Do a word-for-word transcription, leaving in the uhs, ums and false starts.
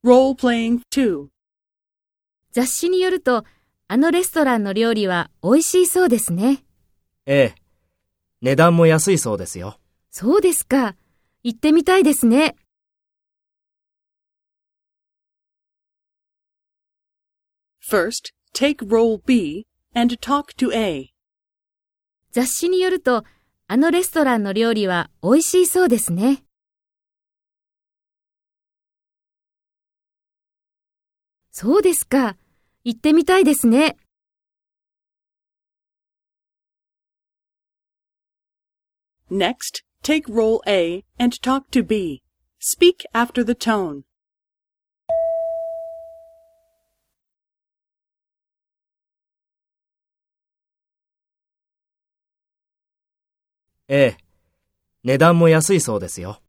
Role-playing two. 雑誌によると、あのレストランの料理は美味しいそうですね。 ええ。値段も安いそうですよ。 そうですか。行ってみたいですね。 First, take role B and talk to A. 雑誌によると、あのレストランの料理は美味しいそうですね。そうですか。行ってみたいですね。 Next, take role A and talk to B. Speak after the tone. ええ。値段も安いそうですよ。